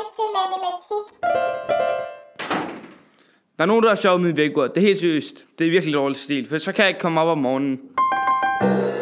til matematik. Der er nogen, der har sjovt med i vækord. Det er helt seriøst. Det er virkelig dårlig stil, for så kan jeg ikke komme op om morgenen.